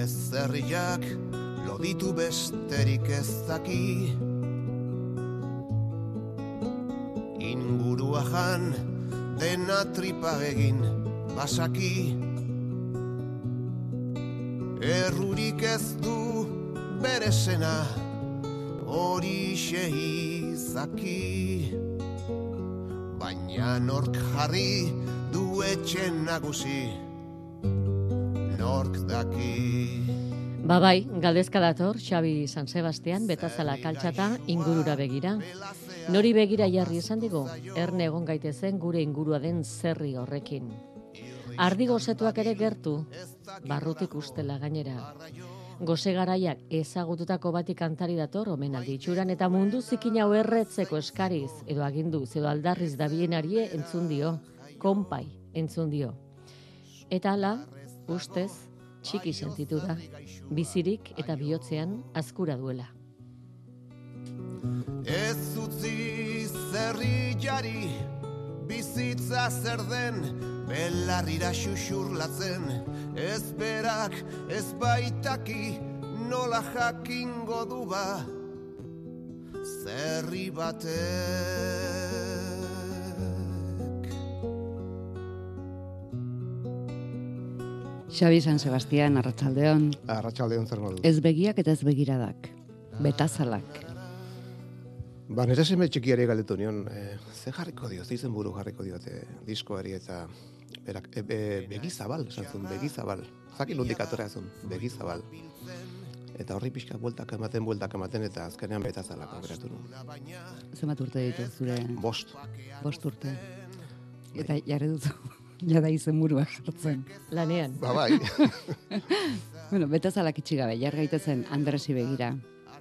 ez herriak loditu besterik ez daki. Ingurua jan dena tripa egin basaki. Errurik ez du bere sena horixe izaki. Baina nork jarri du etxen nagusi, nork daki. Bai, galdezka dator, Xabi San Sebastian, Betazala kaltxata, ingurura begira. Nori begira jarri esan digo, erne egon gaitezen gure ingurua den zerri horrekin. Ardi gozetuak ere gertu, barrutik ustela gainera. Goze garaiak ezagututako bati kantari dator omenaldi itxuran eta mundu zikin hau erretzeko eskariz, edo aginduz, edo aldarriz dabilenarie entzun dio, konpai entzun dio. Eta hala, ustez, txiki sentitu da, bizirik eta bihotzean azkura duela. Ez utzi zerri jari, bizitza zer den, belarrira xuxurlatzen, ez berak ez baitaki nola jakingo du ba, zerri batek. Xabi San Sebastian, arratsaldeon. Arratsaldeon zer modu. Ez begiak eta ez begiradak. Betazalak. Ba, nire seme txikiari galdetu nion, ze jarriko dio, ze izen buru jarriko diote diskoari eta berak, begizabal, esan zuen, begizabal. Zaki nondik atorrea zuen, begizabal. Eta horri pixka bueltak ematen, eta azkenean Betazalak aukeratu nuen. Zenbat urte ditu zure? 5. 5 urte. Eta jarri duzu, jada izen burua jartzen. Lanean. Ba, bai. Bueno, Betazalak itxi gabe, jar gaitezen Andresi begira.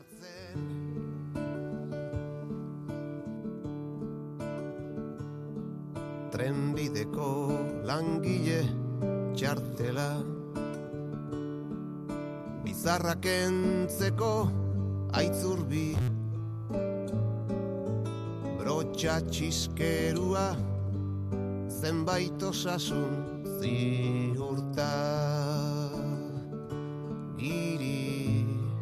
Trenbideko langile txartela, bizarrak entzeko aitzurbi, brotxa txiskerua, zenbait osasun ziurta giri.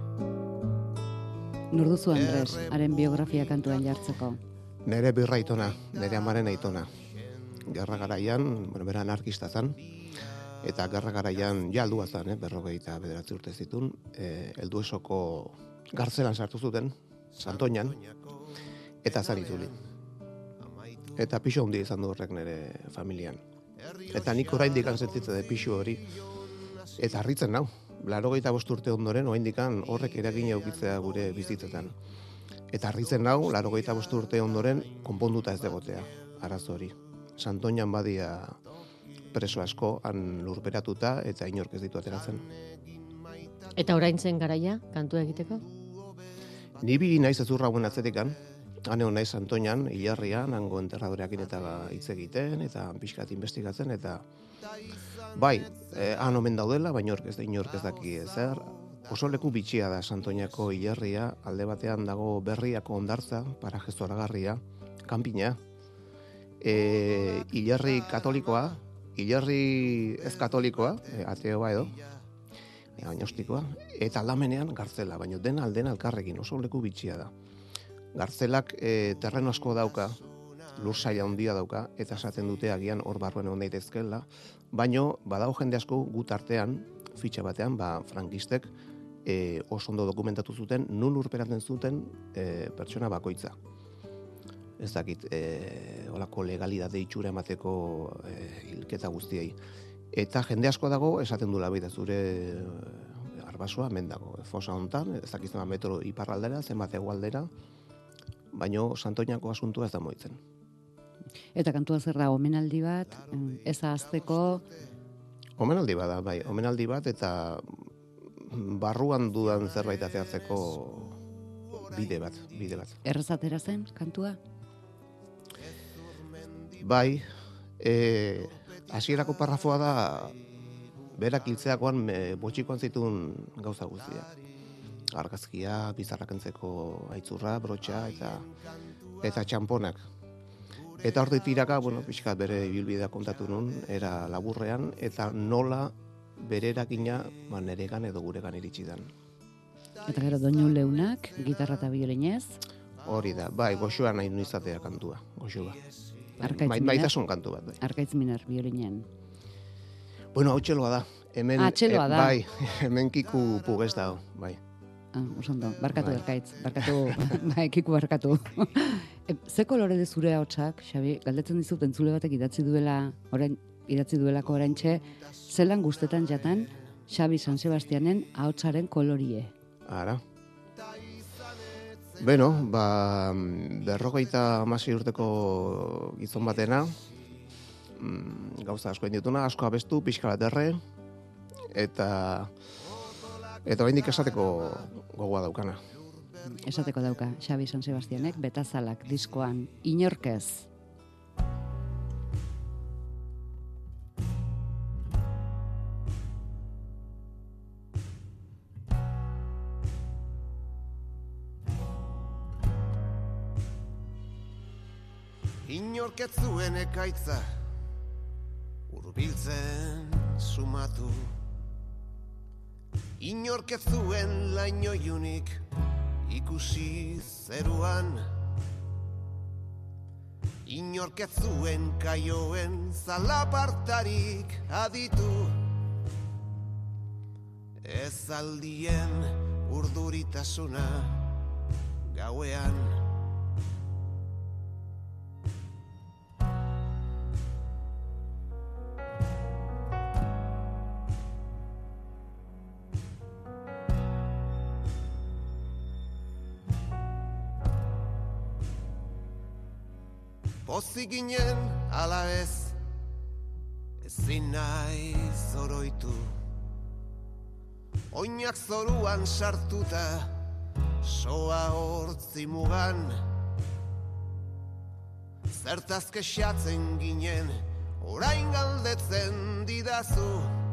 Nor duzu Andres, haren biografia kantuan jartzeko? Nere birra aitona, nere amaren aitona. Gerra garaian, bera anarkista zan, eta gerra garaian jaldua zan, 49 urte zitun, Helduesoko gartzelan sartu zuten, Santoñan, eta zan itzuli. Eta pixo handi izan du horrek nire familian. Eta nik oraindik sentitzen dut pixu hori, eta harritzen nau. 85 urte ondoren, oraindik horrek eragina edukitzea gure bizitzetan. Eta harritzen nau, 85 urte ondoren, konponduta ez degotea, arazo hori. Santoñan badia preso asko, han lurperatuta, eta inork ez ditu ateratzen. Eta orain zen garaia, kantua egiteko? Ni bi naiz ezurra guen atzetikan, han egon naiz Santoñan, hilarrian, hango enterradoreakin eta hitz egiten, eta pixkat investigatzen, eta bai, han omen daudela, baina inork ez daki ezer. Oso leku bitxia da Santoñako hilarria, alde batean dago Berriako hondartza, paraje zoragarria, kanpina, hilarri katolikoa, hilarri ez katolikoa, ateoa edo, agnostikoa, eta aldamenean gartzela, baina dena aldena elkarrekin, oso leku bitxia da. Gartzelak terreno asko dauka, lur saila handia dauka, eta esaten dute agian hor barruen egon daitezkeela, baina badago jende asko gut artean, fitxa batean, frankistek oso ondo dokumentatu zuten, nun lurperatzen zuten pertsona bakoitza. Ez dakit, olako legalidade itxura emateko hilketa guztiei. Eta jende asko dago, esaten du labida zure arbasoa, hemen dago, fosa hontan, ez dakit zenbat metro iparraldera, zenbat hegoaldera, baino Santoñako asuntua ez da moitzen. Eta kantua zer da, omenaldi bat, ez ahazteko? Omenaldi bat da, bai, omenaldi bat, eta barruan dudan zerbait ateatzeko bide bat. Errezatera zen, kantua? Bai, hasierako parrafoa da, berak hiltzeakoan botxikoan zituen gauza guztia. Argazkia, bizarrakentzeko aitzurra, brotxa eta txamponak. Eta hor tiraka, pixkat bere ibilbidea kontatu nun, era laburrean, eta nola bere erakina neregan edo guregan iritsi dan. Eta gero doinu leunak, gitarra eta biolinez. Hori da, bai, goxoa nahi nu izatea kantua, goxoa. Maitasun kantu bat, bai. Arkaitz Miner, biolinen. Bueno, hau txeloa da. Hemen, txeloa da. Bai, hemen Kiku Pugez dago, bai. Osondo, barkatu Bai. Arkaitz, bai, Kiku barkatu. Ze kolore de zure ahotsak, Xabi, galdetzen dizut entzule batek idatzi duelako oraintxe, zelan gustetan jatan Xabi San Sebastianen ahotsaren kolorie. Ara. Beno, 56 urteko gizon batena, gauza asko dituna, asko abestu, pixka bat erre, eta oraindik esateko gogoa daukana. Esateko dauka, Xabi San Sebastianek Betazalak diskoan inorkez. Inork ez zuen ekaitza hurbiltzen sumatu. Inork ez zuen laino ilunik ikusi zeruan. Inork ez zuen kaioen zalapartarik aditu. Ez aldien urduritasuna gauean. Pozik ginen ala ez, ezin nahi zoroitu. Oinak zoruan sartuta, soa hortzi mugan. Zertaz kexatzen ginen, orain galdetzen didazu.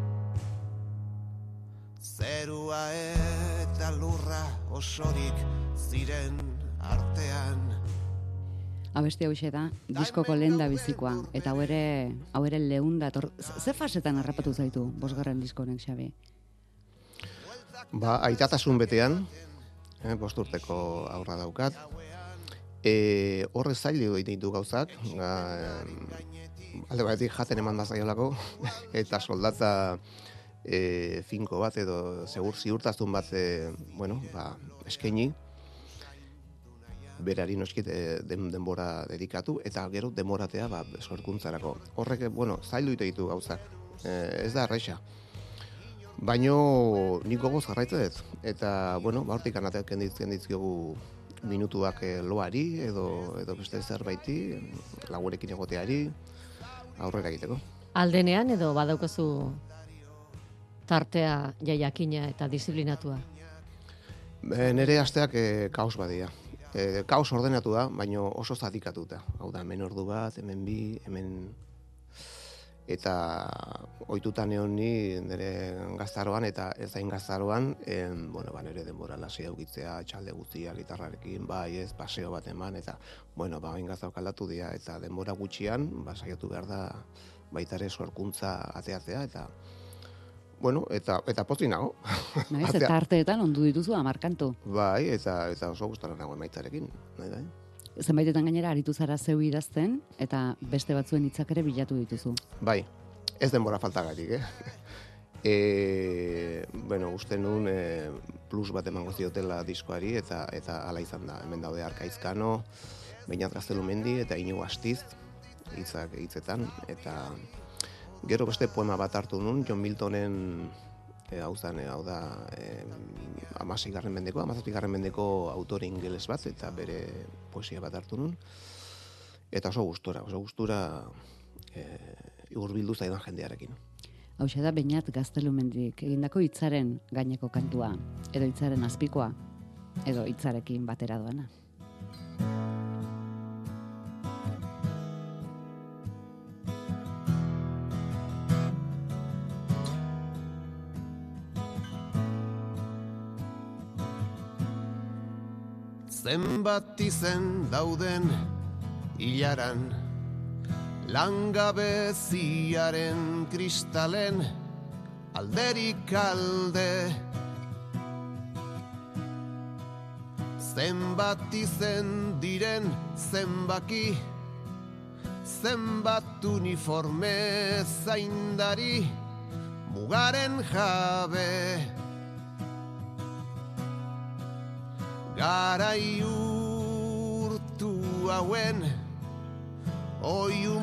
Zerua eta lurra osorik ziren artean. Abesti hau da, diskoko lehen da bizikoa, eta hau ere lehun dator. Ze fasetan harrapatu zaitu, 5. diskonek, Xabi? Aitatasun betean, 5 urteko aurra daukat, horre zailu ditu gauzak, alde batetik jaten eman da zaiolako, eta soldata finko bat edo ziurtazun bat eskaini, berari noskit denbora dedikatu, eta gero denboratea sorkuntzarako. Horrek, zailu ditu gauzak, ez da erresa. Baino nik gogoz jarraitzen dut, eta, hortik anateak kenditzkiogu minutuak loari, edo beste zerbaiti, lagurekin egoteari, aurrera egiteko. Aldenean edo badaukazu tartea jaiakina eta disiplinatua? Nere asteak kaos badia. Kaos ordenatu da, baina oso zatikatuta. Hau da, hemen ordu bat, hemen bi, hemen... Eta ohituta neon ni nire gaztaroan eta ez zain gaztaroan, nire denbora lasi aukitzea, txalde guztia, gitarrarekin, paseo bat eman, eta, hain gaztaroak aldatu dira, eta denbora gutxian, saiatu behar da, baita ere sorkuntza ateatzea, eta, eta pozik nago. Naiz, eta arteetan ondu dituzu 10 kantu. Bai, eta oso gustara nago emaitzarekin, nahi da. Zenbaitetan gainera aritu zara zeu idazten, eta beste batzuen hitzak ere bilatu dituzu. Bai, ez denbora faltagatik, uste nun plus bat emango ziotela diskoari, eta hala izan da. Hemen daude Arkaizkano, Beñat Gaztelumendi eta Inigo Astiz hitzetan, eta gero beste poema bat hartu nun, John Miltonen hau da 16. mendeko, 17. mendeko autore ingeles bat, eta bere poesia bat hartu nun, eta oso gustura hurbildu zaidan jendearekin. Hauxe da Beñat Gaztelumendik egindako hitzaren gaineko kantua, edo hitzaren azpikoa, edo hitzarekin batera doana. Zenbat izen dauden hilaran, langabeziaren kristalen alderik alde. Zenbat izen diren zenbaki, zenbat uniforme zaindari, mugaren jabe. Garai urtu hauen, oiu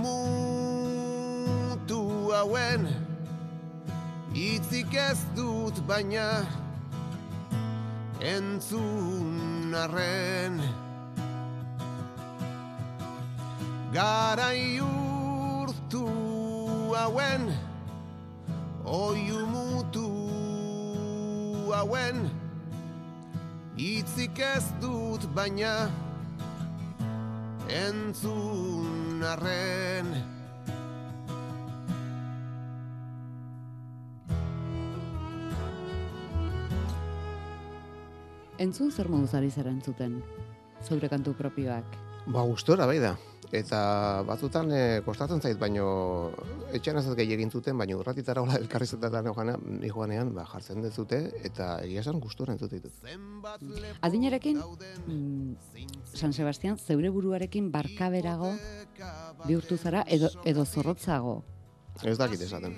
mutu hauen, hitzik ez dut baina entzun arren. Garai urtu hauen, oiu mutu hauen, hitzik ez dut baina entzun arren. Entzun zer moduz ari zara entzuten, zeure kantu propioak? Ba, gustora bai da. Eta batzutan kostatzen zait, baino etxean ez gehiagin zuten, baino urratitara hola elkarrizetan joanean jartzen dezute, eta egia esan gustora entzute ditut. Adinarekin, San Sebastian, zeure buruarekin barkaberago bihurtu zara edo zorrotzago? Ez dakit esaten.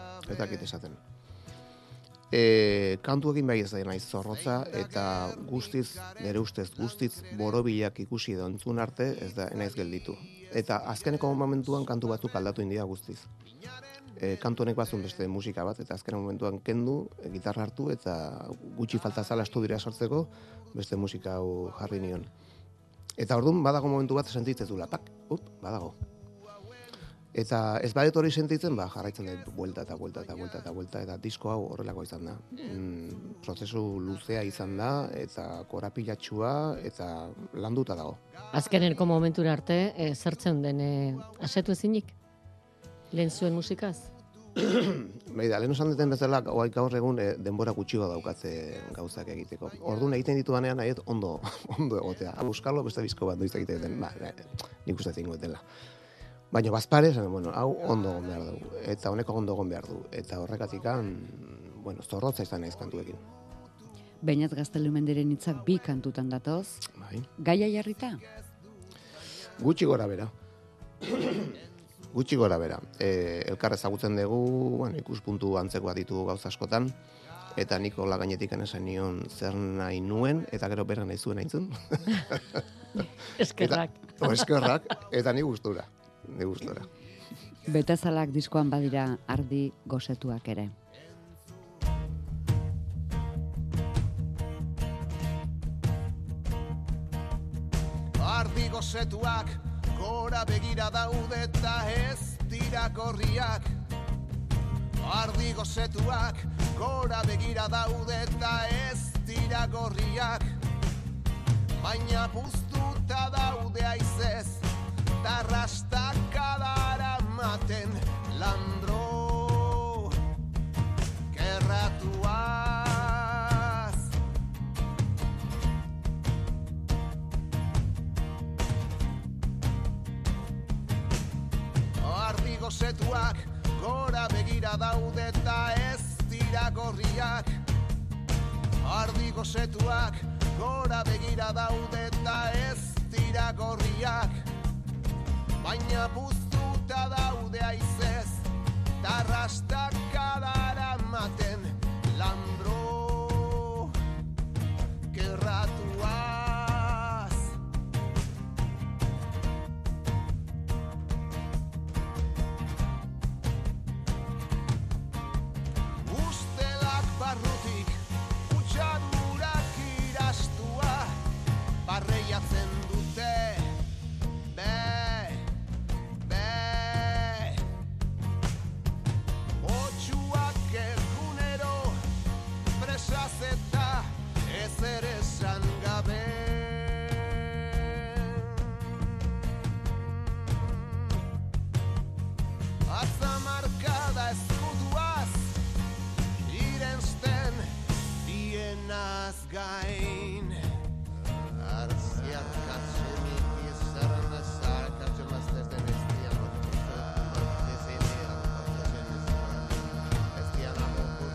Kantuekin bai ez da naiz zorrotza, eta guztiz, nire ustez, guztiz borobilak ikusi edo entzun arte, ez da naiz gelditu. Eta azkeneko momentuan kantu batzuk aldatu india guztiz. Kantu honek bazun beste musika bat, eta azkeneko momentuan kendu, gitarra hartu, eta gutxi falta zala estudiora sortzeko, beste musika hau jarri nion. Eta orduan badago momentu bat sentitzen zula, badago. Eta ez badet hori sentitzen, jarraitzen dut buelta, eta disko hau horrelako izan da. Prozesu luzea izan da, eta korapilatxua, eta landuta dago. Azkenenko momentura arte, zertzen den asetu ezinik? Lehen zuen musikaz? Beida, lehen osan duten bezala, gaur egun denbora gutxi daukatze gauzak egiteko. Orduan egiten ditudanean, nahiet ondo egotea. Buskarlo beste disko bat noiz egiten den, nik uste zingo dela. Baina bazpare, hau ondo egon behar du, eta honeko ondo egon behar du, eta horrekatikan, zorrotza izan naiz kantuekin. Beñat Gaztelumenderen hitzak 2 kantutan datoz, gaia jarrita? Gutxi gora bera. Elkar ezagutzen dugu, ikuspuntu antzekoa ditugu gauza askotan, eta nik hola gainetik esan nion zer nahi nuen, eta gero berra nahi zuen aintzun. Eskerrak. Eskerrak, eta ni gustura. Betazalak diskoan badira ardi gosetuak ere. Ardi gosetuak gora begira daude eta ez dira gorriak. Ardi gosetuak gora begira daude eta ez dira gorriak. Baina puztuta daude aizez, tarrastakadara maten landro kerratuaz. Ardi gosetuak gora begira daude eta ez dira gorriak. Ardi gosetuak gora begira daude eta ez dira gorriak. Baina puztuta daude aizez, tarrastakadara maten landro kerratuaz. Ustelak barrutik, utxadurak irastua, barreiatzen dute, eta ezer esan gabe. Atzamarkada eskuduaz irensten dienaz gain. Arziak katzenik izaren ezar katxemaztez den ez dian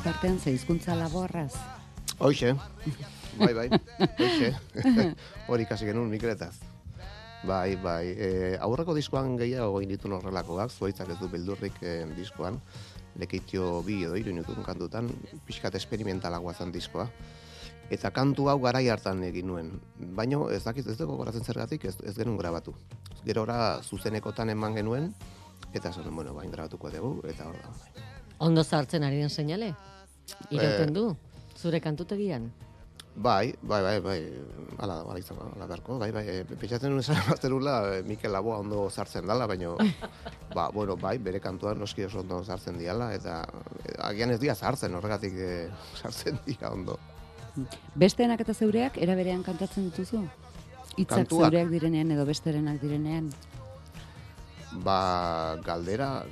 tartean ze hizkuntza laborraz. Hoxe, bai, hoxe, hori kasi genuen Mikeletaz. Bai, aurreko diskoan gehiago egin ditun horrelakoak, Zuaitzak ez du beldurrik diskoan, Lekeitio 2 edo 3 minutun kantutan, pixkat esperimentalagoa zen diskoa. Eta kantu hau garai hartan egin nuen. Baina ez dakit ez dugu goratzen zergatik ez genuen grabatu. Gerora zuzenekotan eman genuen, eta esan, bueno, bain grabatuko dugu, eta hor da. Ondo zartzen ari den seinale? Irauten du, zure kantutegian? Bai, ala izango, ala beharko, bai, pentsatzen nuen esan baterula Mikel Laboa ondo sartzen dala, baina, bere kantuan noski oso ondo sartzen diala, eta agian ez dia sartzen, horregatik sartzen dira ondo. Besteenak eta zeureak era berean kantatzen dituzu? Hitzak zeureak direnean edo besterenak direnean? Galdera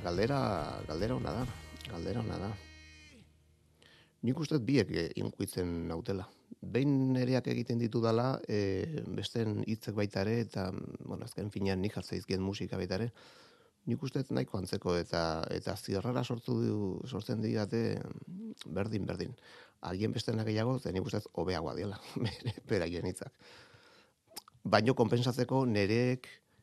ona da. Nik uste biek inkuitzen nautela. Behin nereak egiten ditu dala, besteen hitzek baita ere, eta, azken finean nik jartza izkien musika baita ere, nik uste nahiko antzeko, eta zirrara sortzen digate berdin. Agien bestenak gehiago, nik uste hobeagoa diela, beraien hitzak. Baino konpensatzeko nere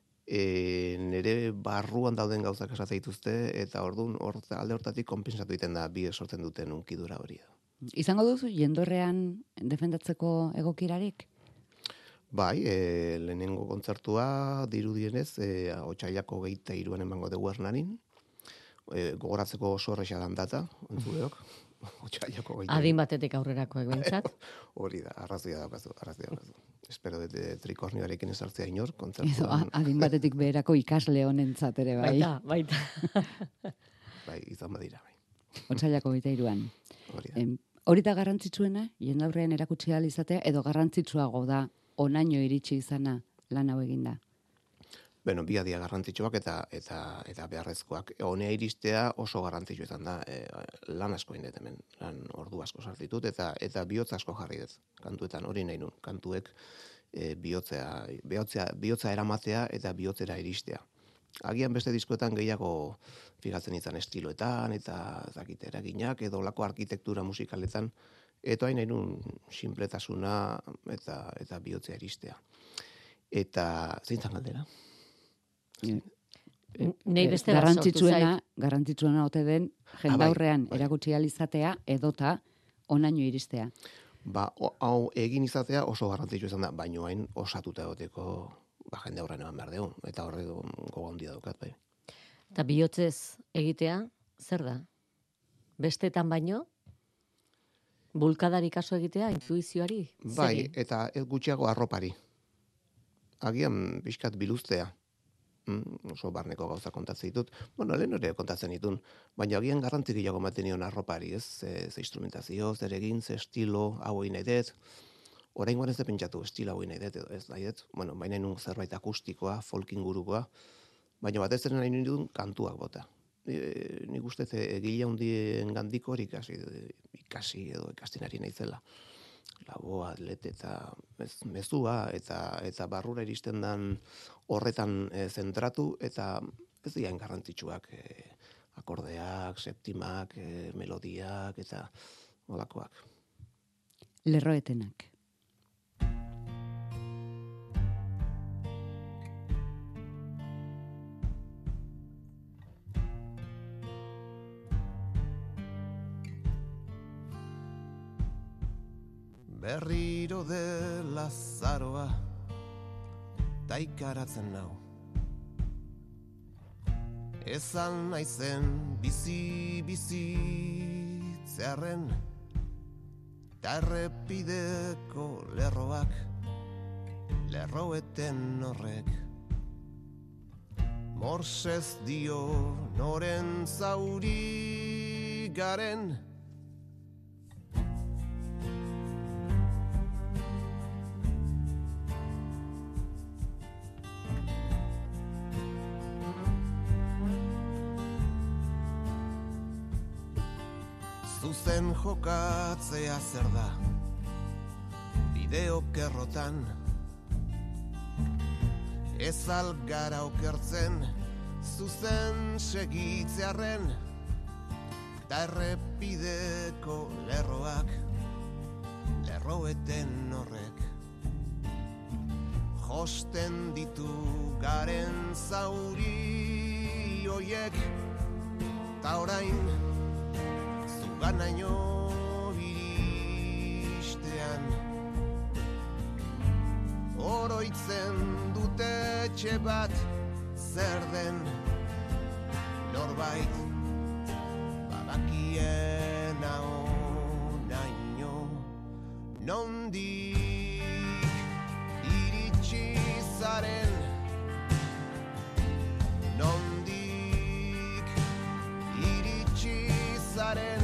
barruan dauden gauzak esate dituzte, eta orduan alde hortatik konpensatu egiten da bi sortzen duten unkidura hori. Izango duzu jendorrean defendatzeko egokirarik? Bai, lehenengo kontzertua dirudienez, otsailako 23an emango dugu Hernanin, gogoratzeko oso erresa dan data, entzuleok. Adin batetik aurrerako egintzat. Hori da, arrazoia daukazu. Espero dute trikornioarekin esartzea inor, kontzertuan. Adin batetik beherako ikasle honentzat ere, bai. Baita. Bai, izan badira, bai. Otsailako 23an. Hori da. Hori da garrantzitsuena, jendaurrean erakutsi ahal izatea, edo garrantzitsuago da onaino iritsi izana lan hau eginda? Beno, bi adia garrantzitsuak eta beharrezkoak. Honea iristea oso garrantzitsua izan da, lan asko indet hemen, lan ordu asko sartitut, eta bihotza asko jarri dut. Kantuetan hori nahi nun, kantuek bihotza eramatea eta bihotzera iristea. Agian beste diskoetan gehiago fijatzen izan estiloetan, eta zakit eraginak, edo lako arkitektura musikaletan, eta hain nahi nun sinpletasuna eta bihotzea iristea. Eta zeintzan galdera? Nei beste sortu zait. Garrantzitsuena ote den jendaurrean erakutsi ahal izatea edota onaino iristea. Hau egin izatea oso garrantzitsua izan da, baino hain osatuta egoteko jendaurrean eman behar dugu, eta horre gogo handia daukat, bai. Eta bihotzez egitea, zer da? Bestetan baino? Bulkadari kaso egitea, intuizioari? Bai, eta gutxiago arropari. Agian pixkat biluztea. Oso barneko gauza kontatzen ditut. Lehen hori kontatzen ditun, baina agian garrantzi gehiago ematen nion arropari, ez? Ze instrumentazio, zer egin, ze estilo, hau egin nahi dut. Oraingoan ez da pentsatu, estilo hau egin nahi dut, edo ez nahi dut. Baina nun zerbait akustikoa, folk ingurukoa, baina batez ere nahi nuen kantuak bota. Nik uste egile handien gandiko hori ikasi edo ikastinari naizela. Laboa, atlete eta mezua eta barrura iristen dan horretan zentratu, eta ez dian garrantzitsuak akordeak, septimak, melodiak eta olakoak. Lerroetenak. Berriro dela zaroa taikaratzen nau. Ezan naizen bizitzearen ta errepideko lerroak, lerroeten horrek. Morsez dio noren zauri garen, zuzen jokatzea zer da, bideokerrotan, ez algara okertzen, zuzen segitzearen, ta errep errepideko lerroak, lerroeten horrek, josten ditu garen zauri hoiek, ta orain zuganaino iristean, oroitzen dute etxe bat zer den, norbait badakiena onaino, nondik iritsi zaren, nondik iritsi zaren,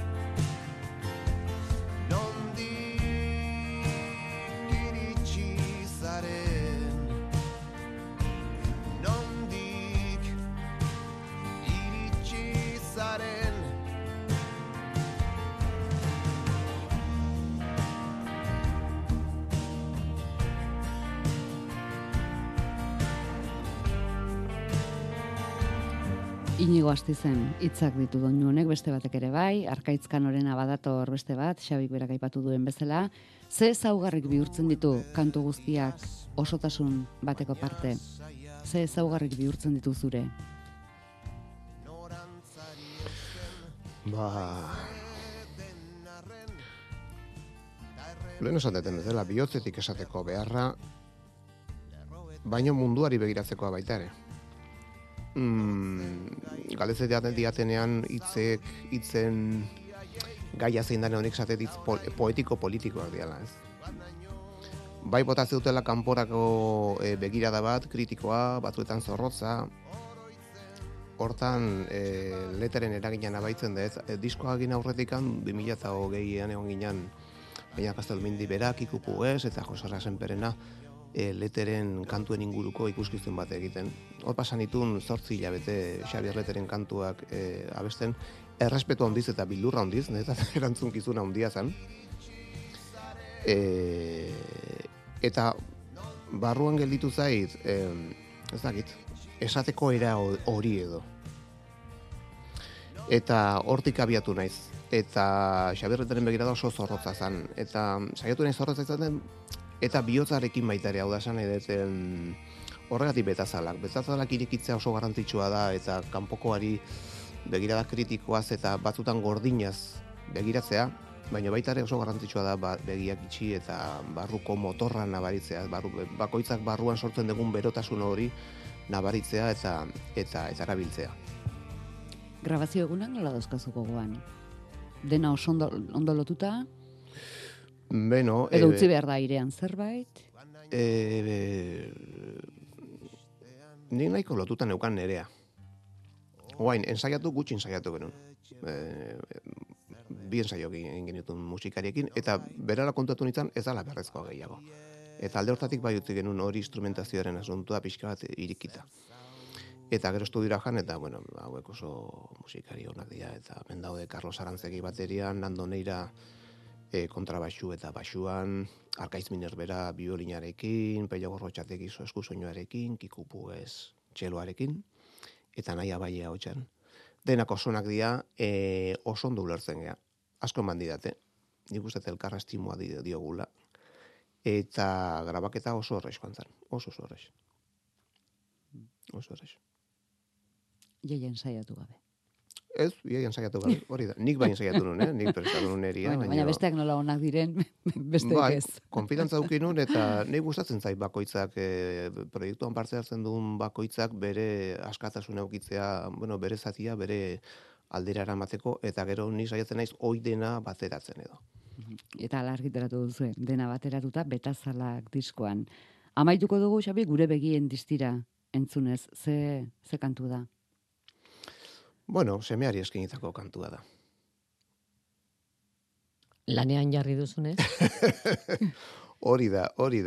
Inigo Astizen hitzak ditu doinu honek, beste batek ere bai, Arkaitz Kanorena badator beste bat, Xabik berak aipatu duen bezala. Ze ezaugarrik bihurtzen ditu kantu guztiak osotasun bateko parte? Ze ezaugarrik bihurtzen ditu zure? Lehen esan deten bezala, bihotzetik esateko beharra, baino munduari begiratzekoa baita ere. Galdetzen diatenean hitzen gaia zein dane honek esatet hitz poetiko-politikoak diala, ez? Bai botatzen dutela kanporako begirada bat, kritikoa, batzuetan zorrotza, hortan leteren eraginan abaitzen da, ez? Diskoa egin aurretikan, 2020an egon ginen, baina Kastelmindi berak, ikupu ez, eta Josara Senperena, leteren kantuen inguruko ikuskizun bat egiten. Hor pasan itun 8 hilabete Xabier Leteren kantuak abesten, errespetu handiz eta bildurra handiz, eta erantzunkizuna handia zen. Eta barruan gelditu zait, ez dakit, esateko era hori edo. Eta hortik abiatu naiz. Eta Xabier Leteren begirada oso zorrotza zen. Eta saiatu naiz zorrotza izaten, eta bihotzarekin baita ere, hau da esan edeten horregatik betazalak. Betazalak irekitzea oso garrantzitsua da, eta kanpokoari begirada kritikoaz eta batzutan gordinaz begiratzea, baina baita ere oso garrantzitsua da begiak itxi eta barruko motorra nabaritzea, bakoitzak barruan sortzen dugun berotasun hori nabaritzea eta erabiltzea. Grabazio egunak nola dauzkazu gogoan? Dena oso ondo lotuta? Beno, edo utzi behar da airean zerbait? Nik nahiko lotuta neukan nerea. Oain, gutxi ensaiatu genuen. Bi ensaio egin genituen musikariekin, eta berala kontatu nintzen ez dala berrezkoa gehiago. Eta alde hortatik bai utzi genuen hori instrumentazioaren asuntua pixka bat irikita. Eta gero estudiora jan, eta bueno, hauek oso musikari honak dira, eta hemen daude Carlos Arantzegi baterian, Nando Neira kontrabaxu eta baxuan, Arkaitz Minerbera biolinarekin, Pello Gorrotxategi eskusoinuarekin, Kiku Puguez txeloarekin, eta Naia Baia hotxan. Denak osonak dira, oso ondo ulertzen gea. Asko eman didate, nik uste elkarra estimua diogula, eta grabaketa oso horreix joan zen, oso horreix. Oso horreix. Iaia ensaiatu gabe. Ez, iaia ensaiatu gabe, hori da. Nik bai ensaiatu nuen, nik prestatu nuen eria. Baina besteak nola onak diren, besteak ez. Konfidantza dukin nuen, eta nik gustatzen zait bakoitzak, proiektuan parte hartzen duen bakoitzak bere askatasuna eukitzea, bueno, bere zatia, bere aldera eramateko, eta gero ni saiatzen naiz hoi dena bateratzen edo. Eta ala argitaratu duzu, dena bateratuta betazalak diskoan. Amaituko dugu, Xabi, gure begien distira entzunez, ze kantu da? Bueno, semeari eskinitako kantua da. Lanean jarri duzunez? Hori da.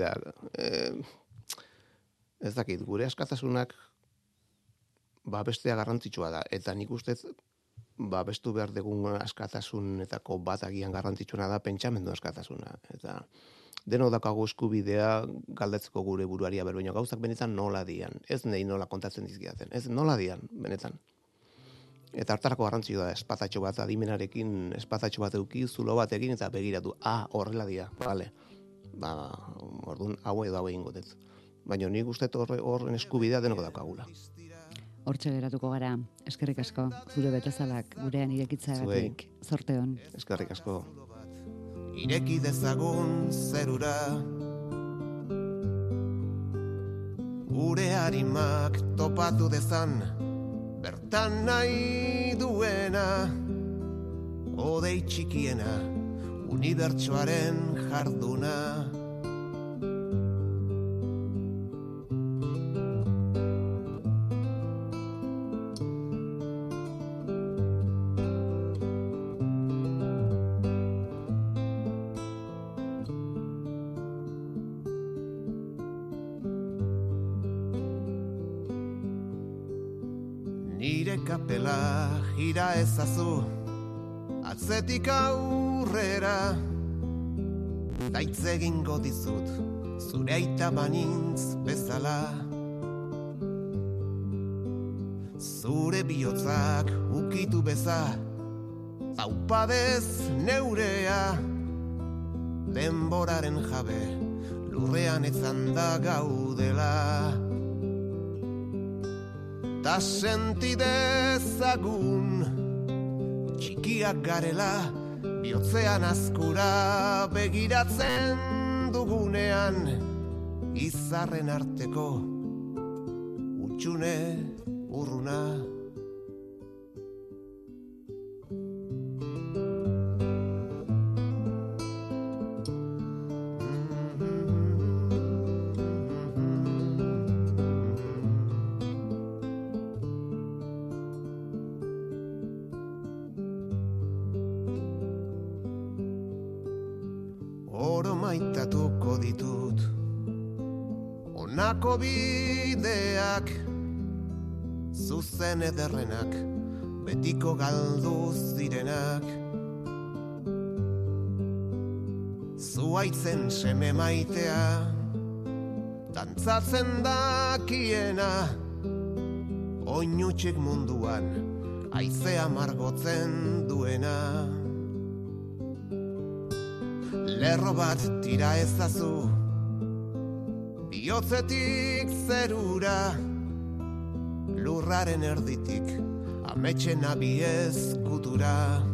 Ez dakit, gure askatasunak bestea garrantzitsua da. Eta nik ustez, bestu behar dugun askatasunetako bat agian garrantzitsuna da pentsamendu askatasuna. Eta deno dakago eskubidea galdetzeko gure buruaria berbeino gauzak benetan nola dian. Ez nahi nola kontatzen dizkidaten. Ez nola dian, benetan. Eta hartarako garrantzioa da, espatatxo bat adimenarekin, espatatxo bat euki, zulo batekin, eta begiratu, horrela dira, bale. Orduan, hau edo hau egingo dut. Baina nik uste horren eskubidea denoko daukagula. Hortxe geratuko gara, eskerrik asko, zure betazalak gurean irekitzagatik, zorte hon. Eskerrik asko. Ireki dezagun zerura, gure harimak topatu dezan, bertan nahi duena, odei txikiena, unibertsoaren jarduna. Nire kapela gira ezazu, atzetik aurrera, daitz egingo dizut, zure aita banintz bezala. Zure bihotzak ukitu beza, zaupadez neurea, denboraren jabe, lurrean etzanda gaudela. Ta sentidezagun, txikiak garela, bihotzean azkura begiratzen dugunean, izarren arteko utxune urruna. Oro maitatuko ditut, honako bideak, zuzen ederrenak, betiko galduz direnak. Zuaitzen seme maitea, dantzatzen dakiena, oinutxik munduan, haizea margotzen duena. Lerro bat tira ezazu, bihotzetik zerura, lurraren erditik, ametxen abiez kutura.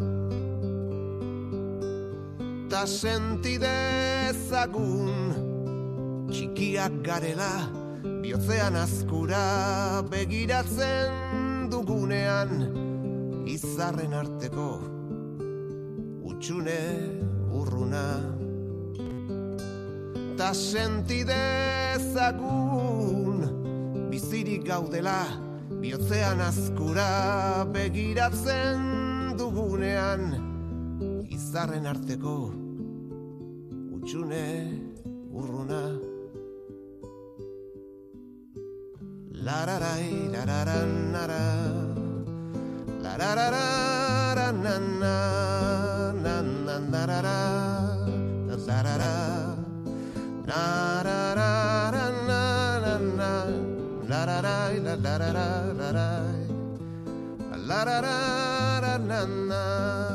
Ta sentidezagun, txikiak garela, bihotzean azkura begiratzen dugunean, izarren arteko utxune urruna. Ta sentidezagun, bizirik gaudela, bihotzean azkura begiratzen dugunean, izarren arteko utxune urruna. Lararai, lararanara, lararararanana, nananarara, larara, narararanana, lararai, larararai, larararanana.